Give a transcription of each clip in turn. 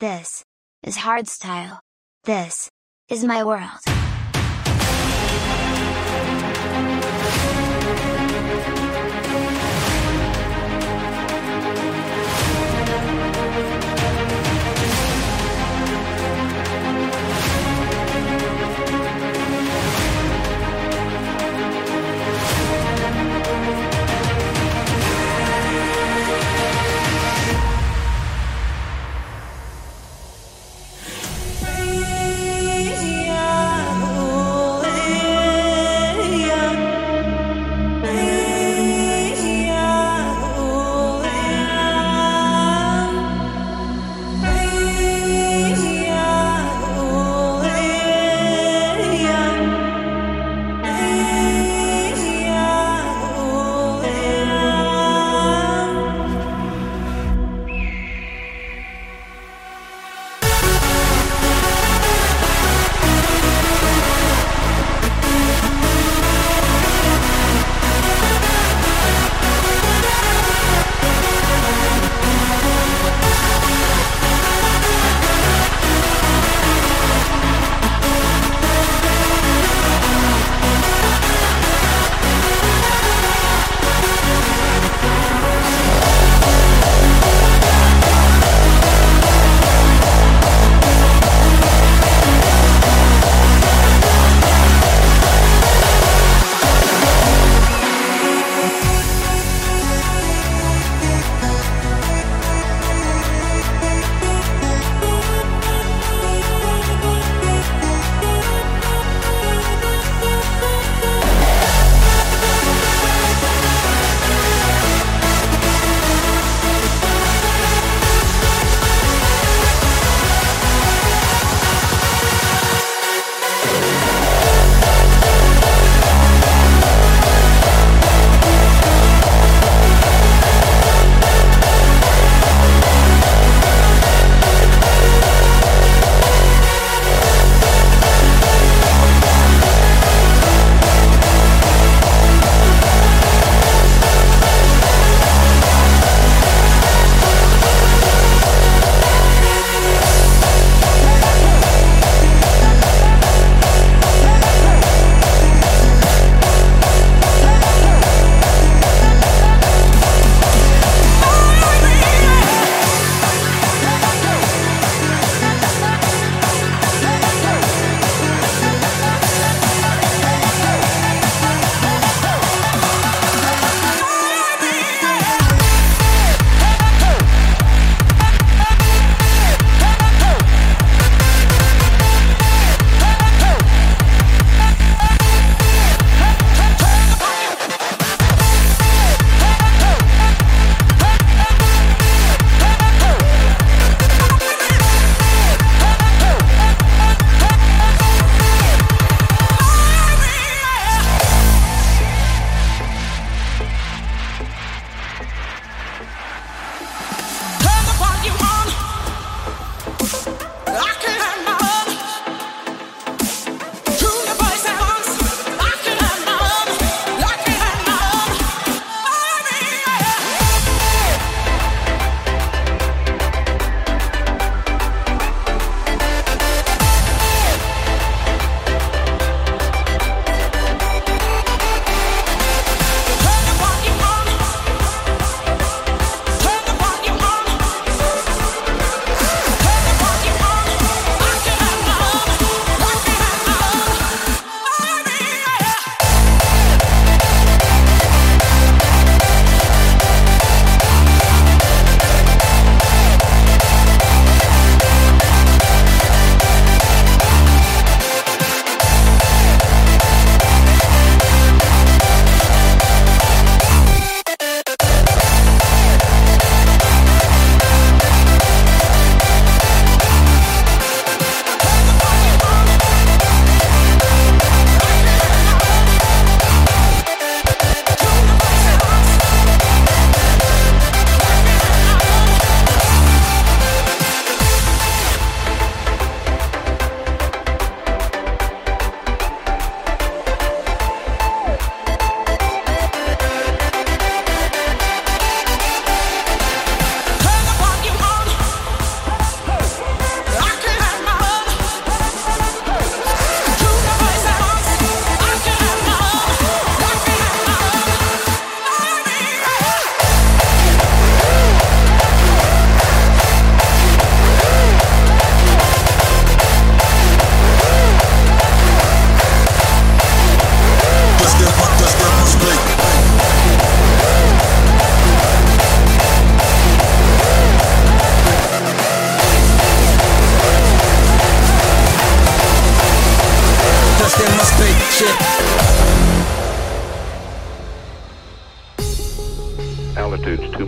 This is hardstyle. This is my world.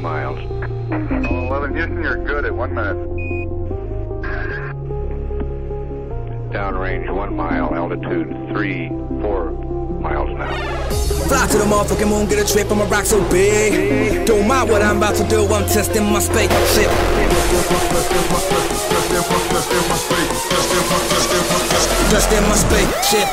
miles. Oh, well, in Houston, you're good at 1 minute. Downrange 1 mile, altitude 3-4 miles now. Fly to the motherfucking moon, get a trip, I'ma rock so big. Don't mind what I'm about to do, I'm testing my spaceship. Testing my spaceship.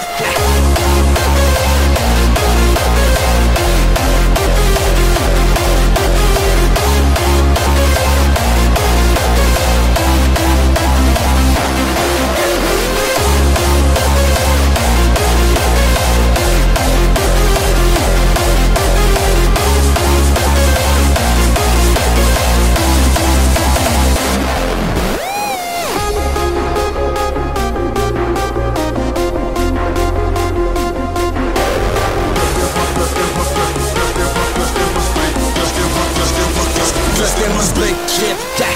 Dressed in my spaceship, yeah.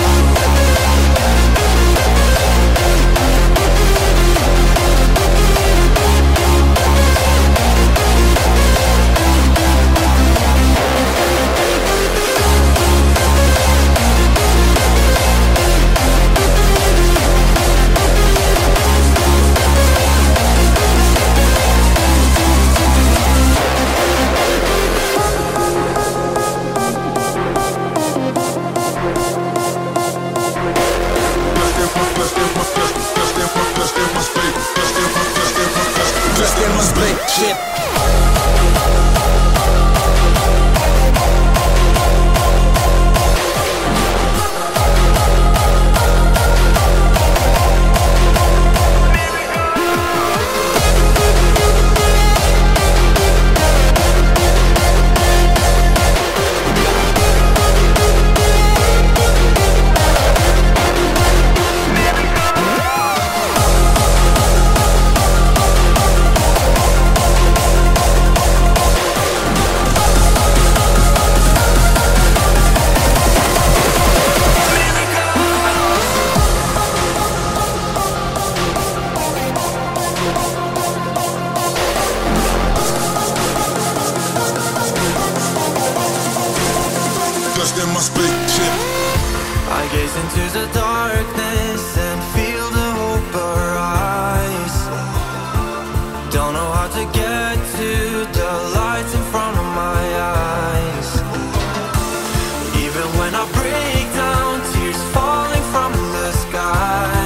Dressed in my spaceship. Dressed in my spaceship. I gaze into the darkness and feel the hope arise. Don't know how to get to the lights in front of my eyes. Even when I break down, tears falling from the sky,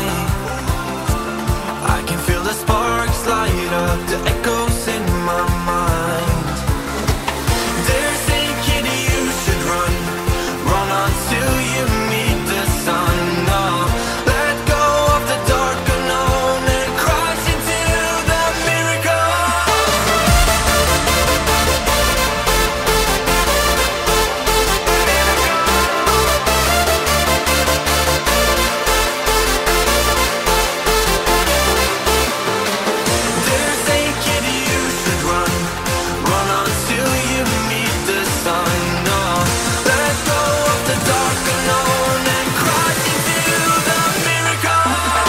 I can feel the sparks light up, the echoes in my mind. They're saying, kid, you should run until you meet the sun. No, let go of the dark unknown and crash into the miracle. They're saying, kid, you should run until you meet the sun. No, let go of the dark unknown and crash into the miracle.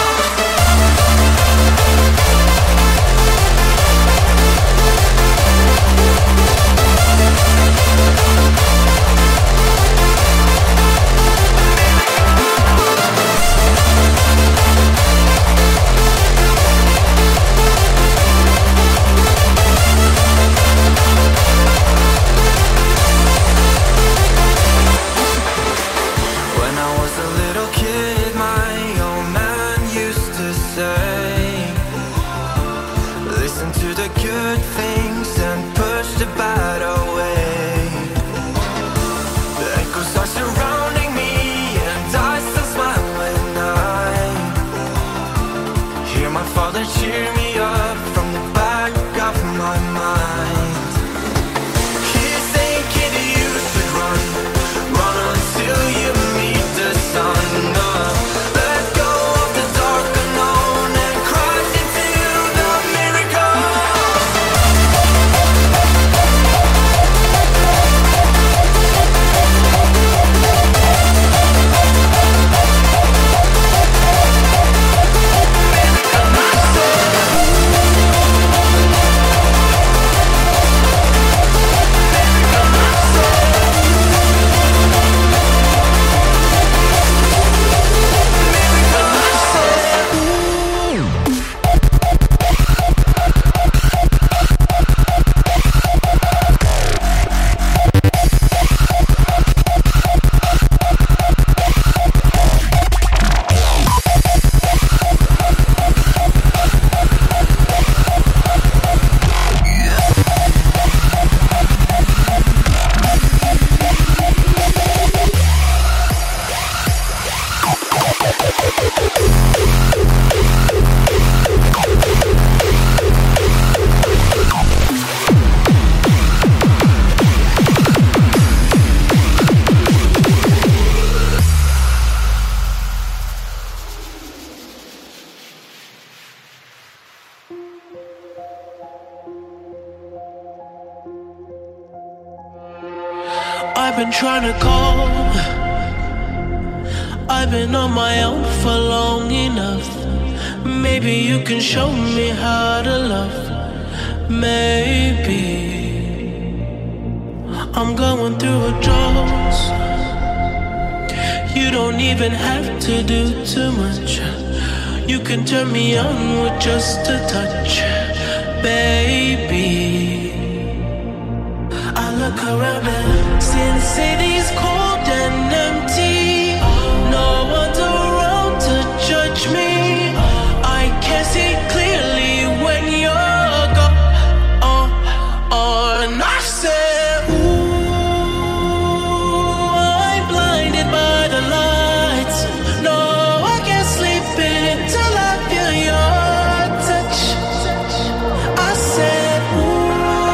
When I was a little kid, my old man used to say, listen to the good things and push the bad away. The echoes are surrounding me and I still smile when I hear my father cheer me up from the back of my mind. He's saying, kid, you should run until you meet the sun. No, let go of the dark unknown and crash into the miracle. I've been trying to call. I've been on my own for long enough. Maybe you can show me how to love. Maybe I'm going through a drought. You don't even have to do too much. You can turn me on with just a touch, baby. I look around and see the city's cold and empty. No one's around to judge me. I can't see clearly when you're gone. And I said, ooh, I'm blinded by the lights. No, I can't sleep until I feel your touch. I said, ooh,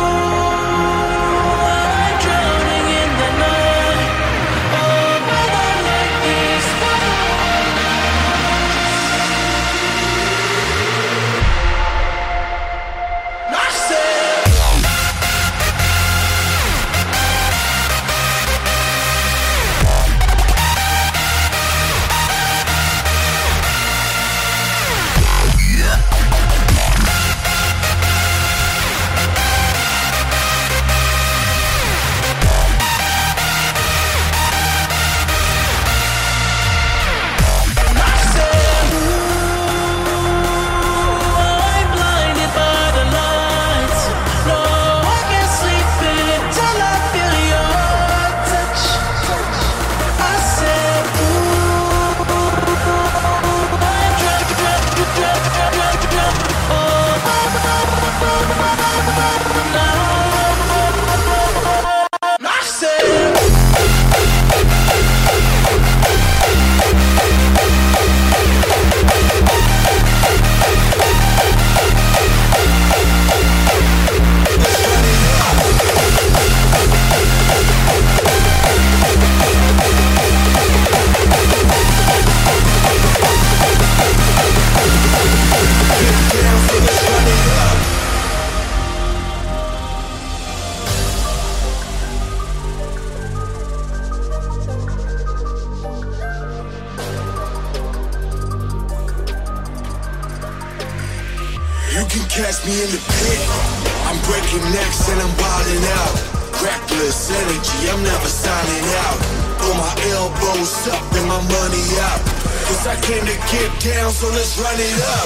catch me in the pit. I'm breaking necks and I'm wilding out. Reckless energy, I'm never signing out. Throw my elbows up and my money out. Cause I came to get down, so let's run it up.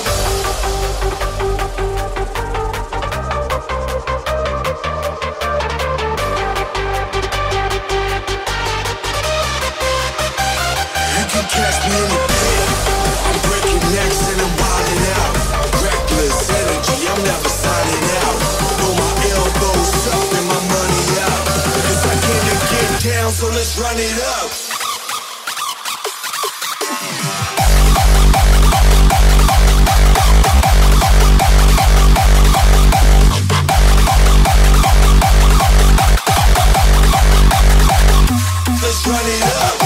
You can catch me in the pit. I'm breaking necks and I'm wilding out. Reckless energy, I'm never signing out. Throw my elbows up and my money out. Cause I came to get down, so let's run it up. Let's run it up.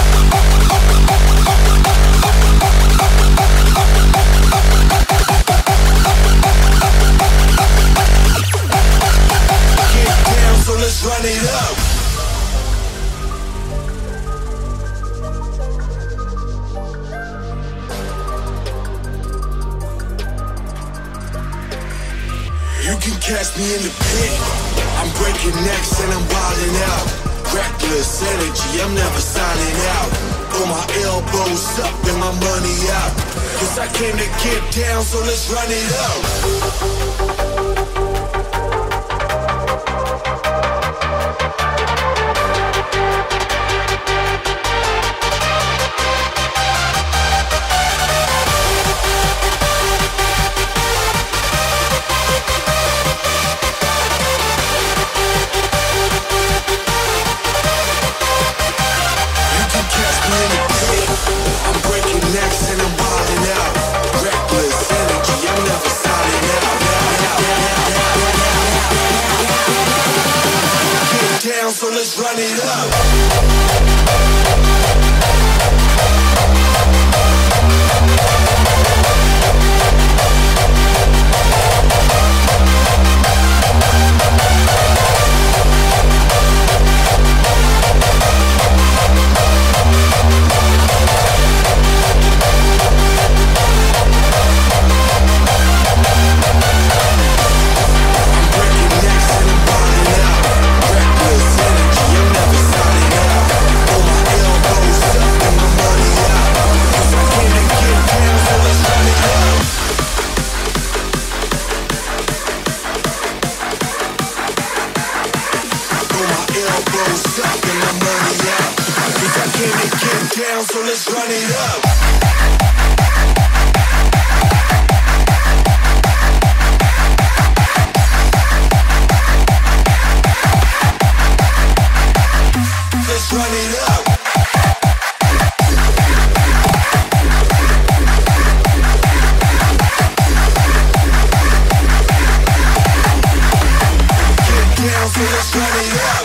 Get down, so let's run it up. You can catch me in the pit. I'm breaking necks and I'm wilding out. Reckless energy, I'm never signing out. Throw my elbows up and my money out. Cause I came to get down, so let's run it up. I'm breaking necks it up. So let's run it up. Let's run it up. Get down, so let's run it up.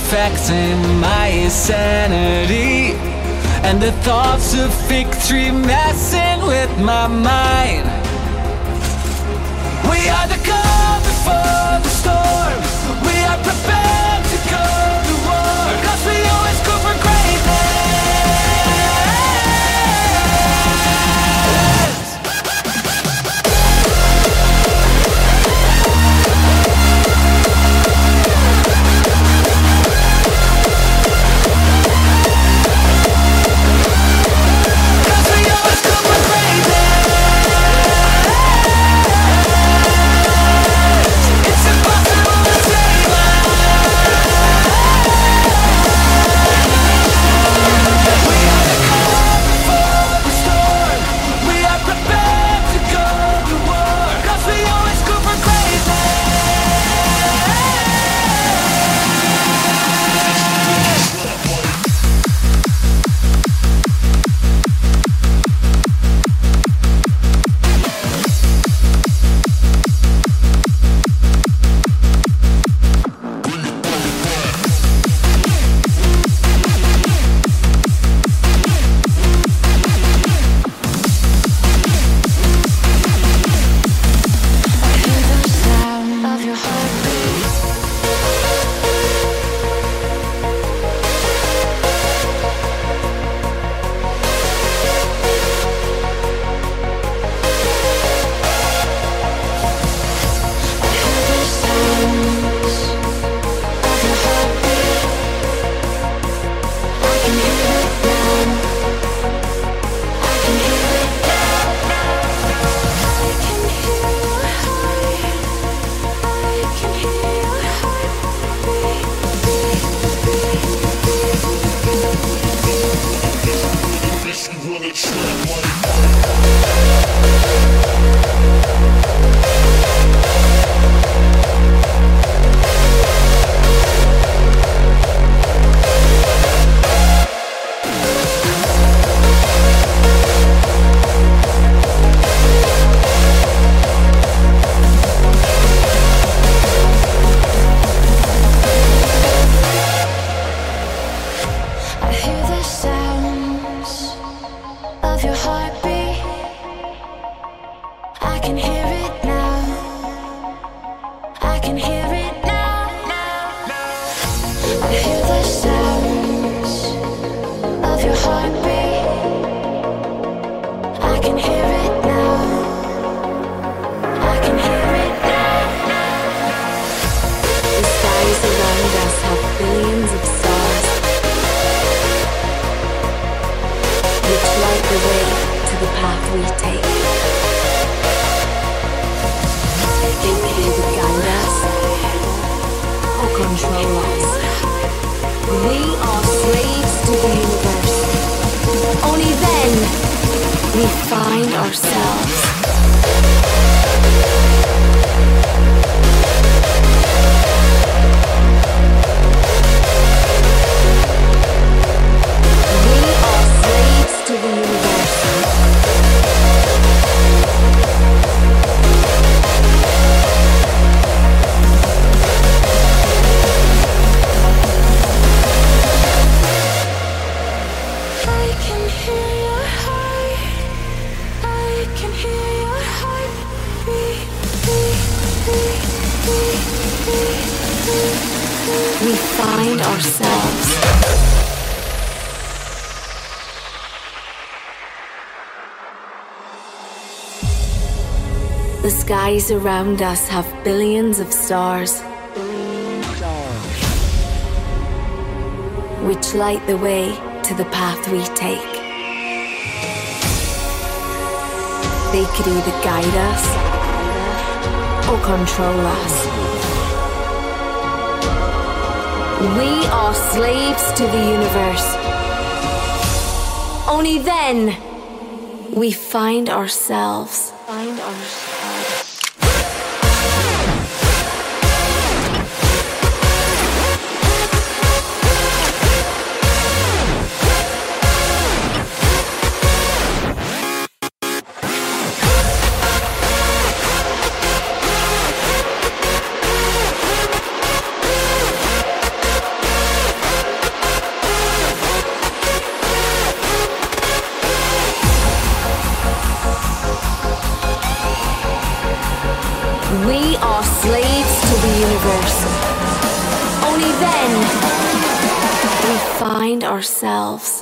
affecting my sanity, and the thoughts of victory messing with my mind. We are the calm before the storm. We are prepared to go to war, 'cause we always go for greatness. We find ourselves. The skies around us have billions of stars, which light the way to the path we take. They could either guide us or control us. We are slaves to the universe. Only then we find ourselves. We are slaves to the universe. Only then we find ourselves.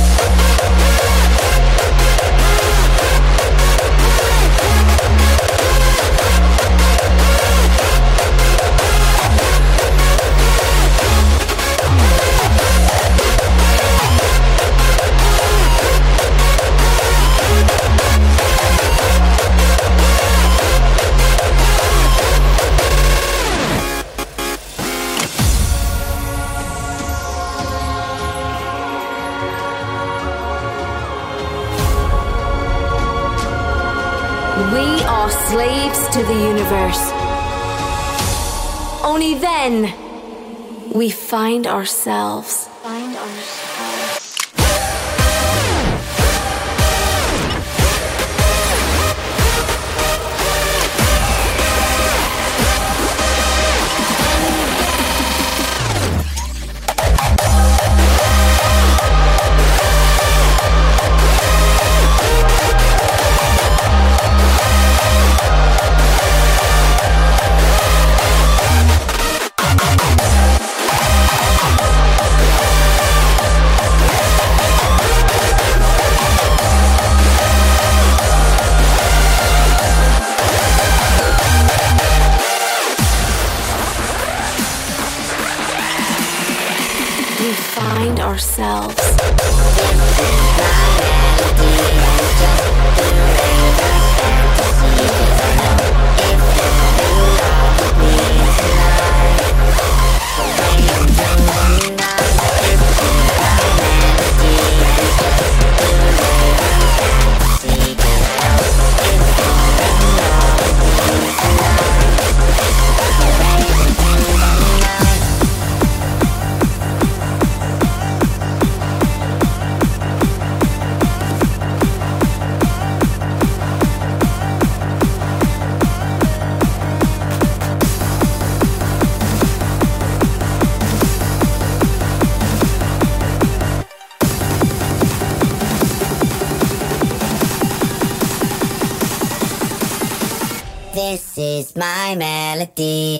We are slaves to the universe. Only then we find ourselves. We find ourselves. This is my melody.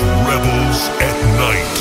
Rebels at Night.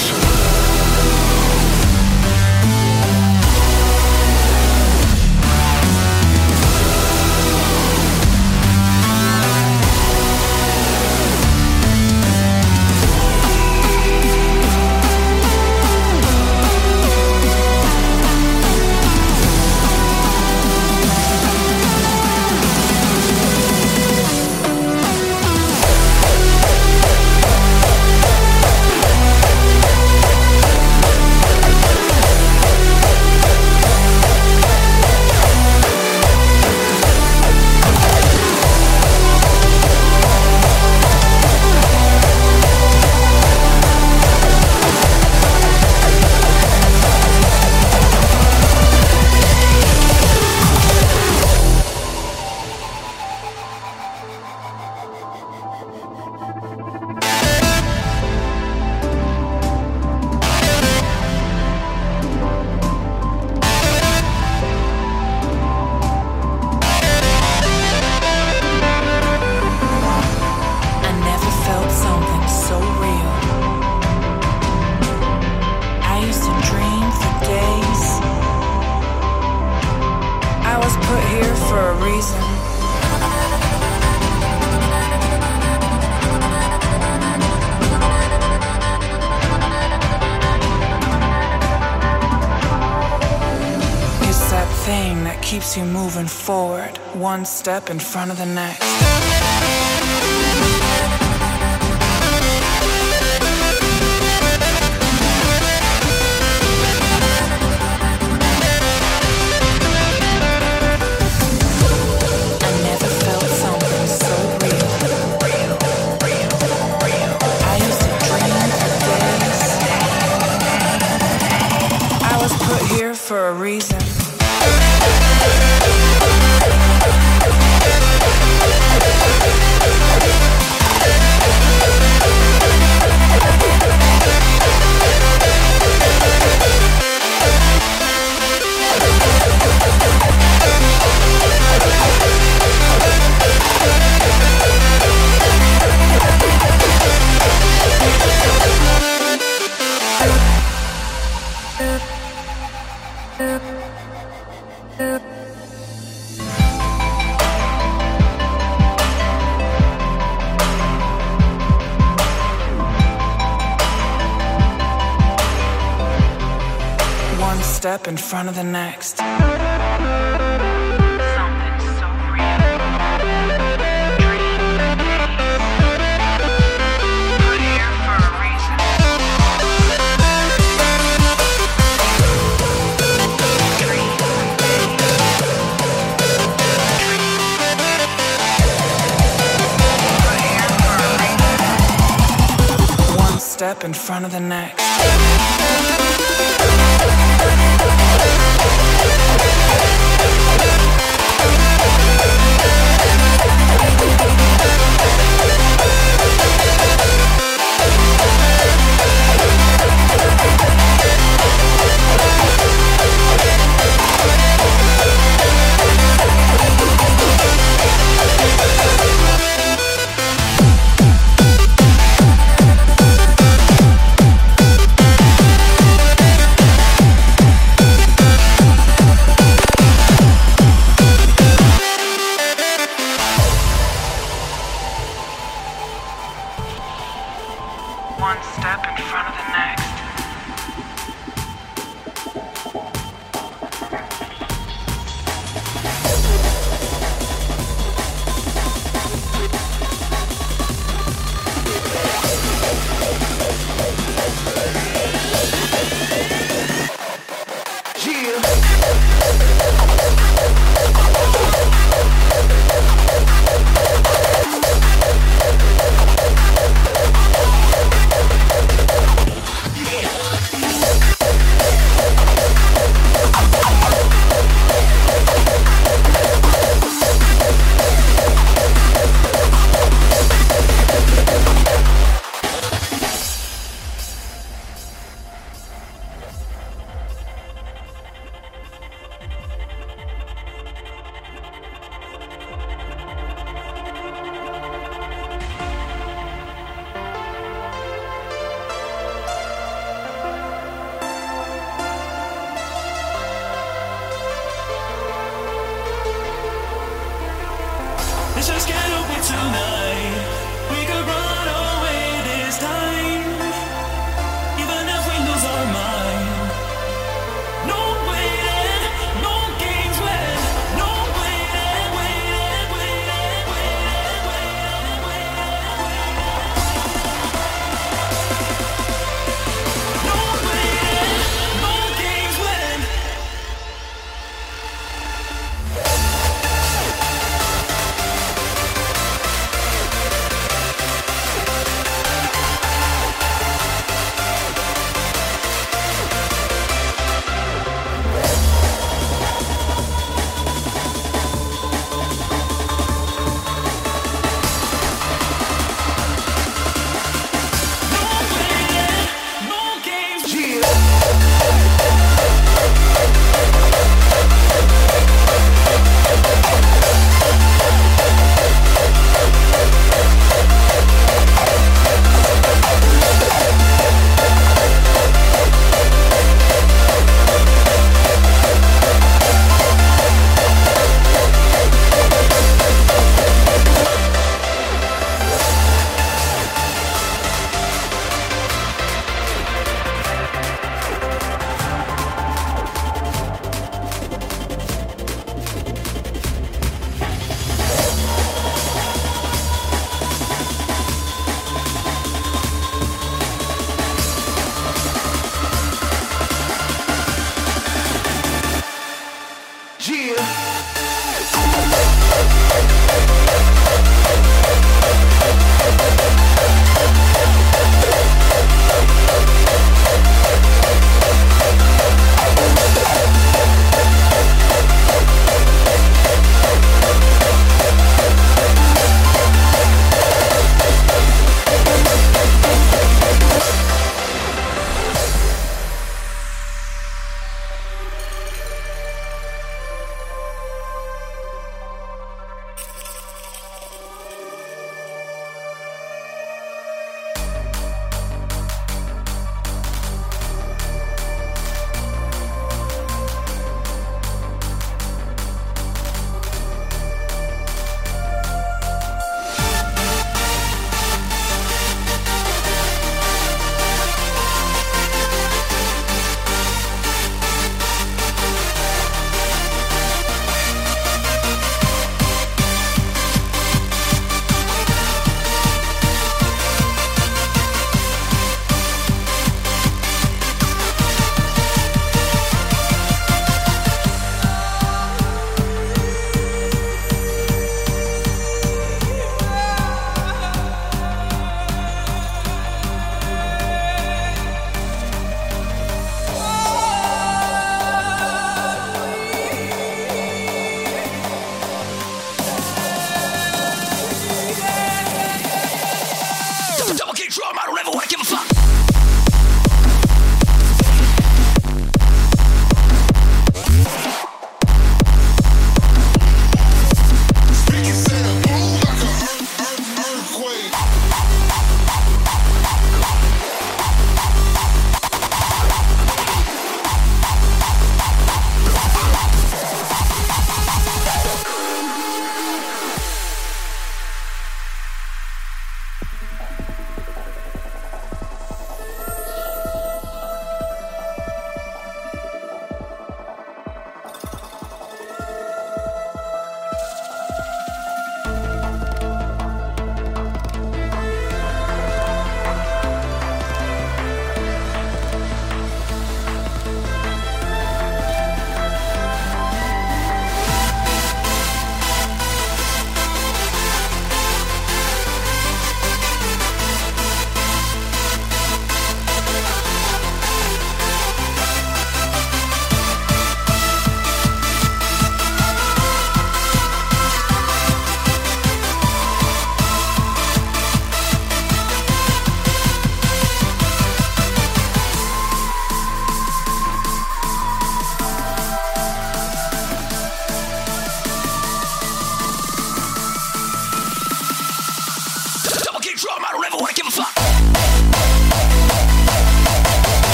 Keeps you moving forward, one step in front of the next. I never felt something so real. I used to dream for days. I was put here for a reason. One step in front of the next. Step in front of the next. One step in front of the next. just get away tonight. We could run